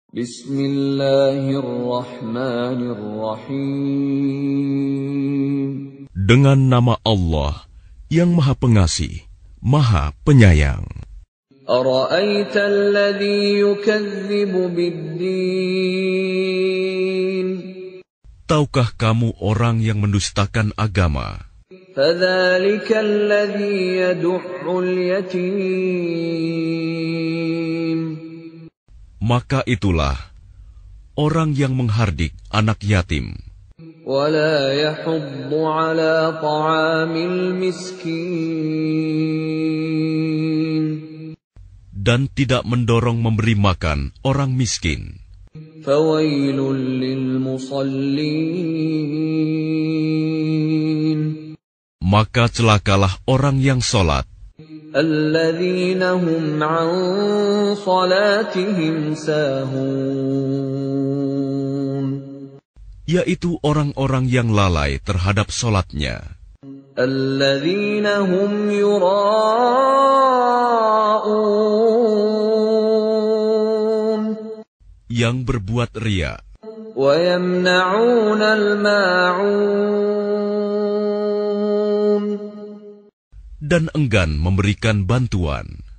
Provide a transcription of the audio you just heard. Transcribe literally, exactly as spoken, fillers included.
Bismillahirrahmanirrahim. Dengan nama Allah yang Maha Pengasih, Maha Penyayang. Ara'aita alladhi yukadzibu bid-din. Tahukah kamu orang yang mendustakan agama? Fadzalika alladhi yad'ul yatim. Maka itulah orang yang menghardik anak yatim. Wala yahuddu ala ta'amil miskin. Dan tidak mendorong memberi makan orang miskin. Fawailul lil musallin. Maka celakalah orang yang sholat. Alladzina hum an salatihim sahun. Yaitu orang-orang yang lalai terhadap sholatnya. Alladzina hum yura'un. Yang berbuat riya. Wa yamna'un al-ma'un. Dan enggan memberikan bantuan.